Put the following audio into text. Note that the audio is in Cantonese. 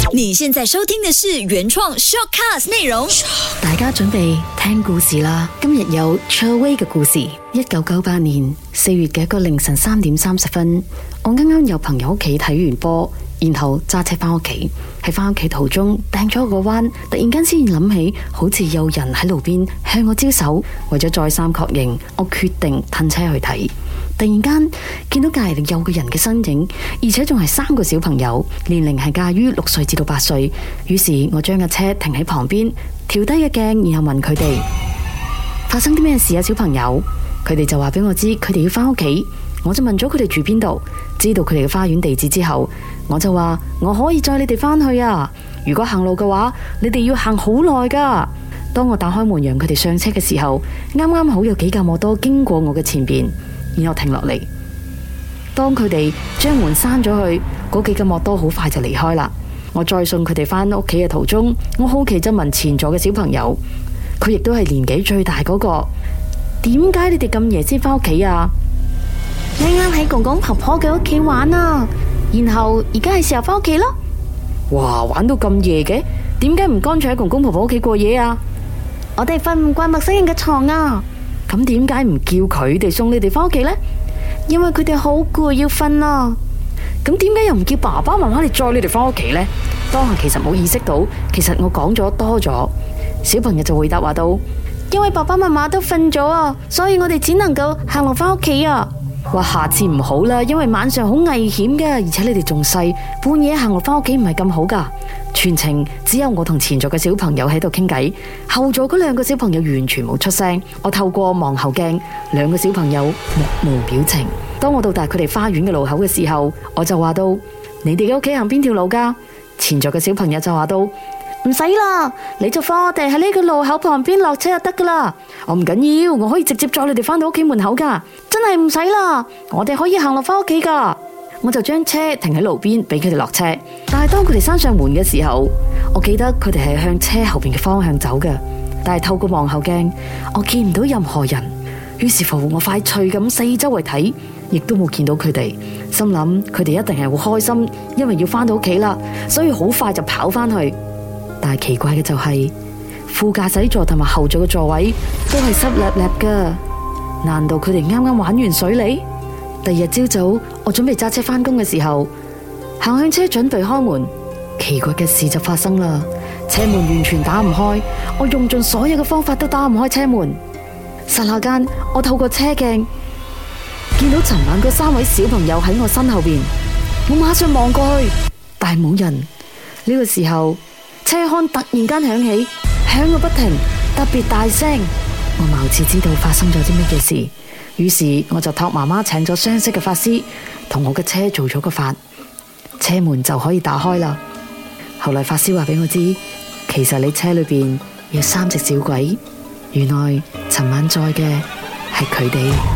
你現在收聽的是原創 shortcast 內容。 大家準備聽故事啦！今日有 Cherway 嘅故事。1998年4月嘅一個凌晨3點30分，我啱啱由朋友屋企睇完波，然後揸車翻屋企。喺翻屋企途中，掟咗個彎，突然間先諗起，好似有人喺路邊向我招手。為咗再三確認，我決定褪車去睇。突然間見到隔籬有個人嘅身影，而且仲係3個小朋友，年齡係介於6歲至到8歲。於是我將架車停喺旁邊，調低個鏡，然後問佢哋發生啲咩事啊？小朋友，佢哋就話俾我知佢哋要返屋企。我就問咗佢哋住邊度，知道佢哋嘅花園地址之後，我就話我可以載你哋返去啊。如果行路嘅話，你哋要行好耐噶。當我打開門讓佢哋上車嘅時候，啱啱好有幾架摩托經過我嘅前邊，然後停落嚟。當佢哋將門閂咗去，嗰幾架摩托好快就離開啦。我再送佢哋返屋企嘅途中，我好奇就問前座嘅小朋友，佢亦都係年紀最大嗰個，點解你哋咁夜先返屋企啊？ 啱啱喺公公婆婆嘅屋企玩啊，然後而家係時候返屋企咯。 哇，玩到咁夜嘅，點解唔乾脆喺公公婆婆屋企過夜啊？ 我哋瞓唔慣陌生人嘅床啊。 咁點解唔叫佢哋送你哋返屋企呢？ 因為佢哋好攰要瞓啊。 咁點解又唔叫爸爸媽媽你載你哋返屋企呢？當下其實冇意識到，其實我講咗多咗。小朋友就回答話到， 因為爸爸媽媽都瞓咗啊，所以我哋只能夠行路返屋企啊。 話下次唔好啦，因為晚上好危險噶，而且你哋仲細，半夜行路返屋企唔係咁好噶。全程只有我同前座嘅小朋友喺度傾偈，後座嗰2個小朋友完全冇出聲。我透過望後鏡，2個小朋友目無表情。當我到達佢哋花園嘅路口嘅時候，我就話到，你哋嘅屋企行邊條路噶？前座嘅小朋友就話到， 唔使啦，你就放我哋喺呢個路口旁邊落車就得噶啦。 我唔緊要，我可以直接載你哋返到屋企門口噶。 真係唔使啦，我哋可以行落返屋企噶。 我就將車停喺路邊俾佢哋落車。但係當佢哋閂上門嘅時候，我記得佢哋係向車後邊嘅方向走嘅。但係透過望後鏡，我見唔到任何人。於是乎，我快脆咁四周圍睇，亦都冇見到佢哋。心諗佢哋一定係好開心，因為要返到屋企啦，所以好快就跑返去。但係奇怪嘅就係，副駕駛座同埋後座嘅座位都係濕立立噶。難道佢哋啱啱玩完水嚟？第二日朝早，我準備揸車返工嘅時候，行向車準備開門，奇怪嘅事就發生啦。車門完全打唔開，我用盡所有嘅方法都打唔開車門。剎那間，我透過車鏡見到尋晚嗰3位小朋友喺我身後邊，我馬上望過去，但係冇人。呢個時候，車廂突然間響起，響個不停，特別大聲。我貌似知道發生咗啲乜嘢事，於是我就託媽媽請咗雙色嘅法師，同我嘅車做咗個法，車門就可以打開啦。後來法師話俾我知，其實你車裏邊有3隻小鬼，原來尋晚載嘅係佢哋。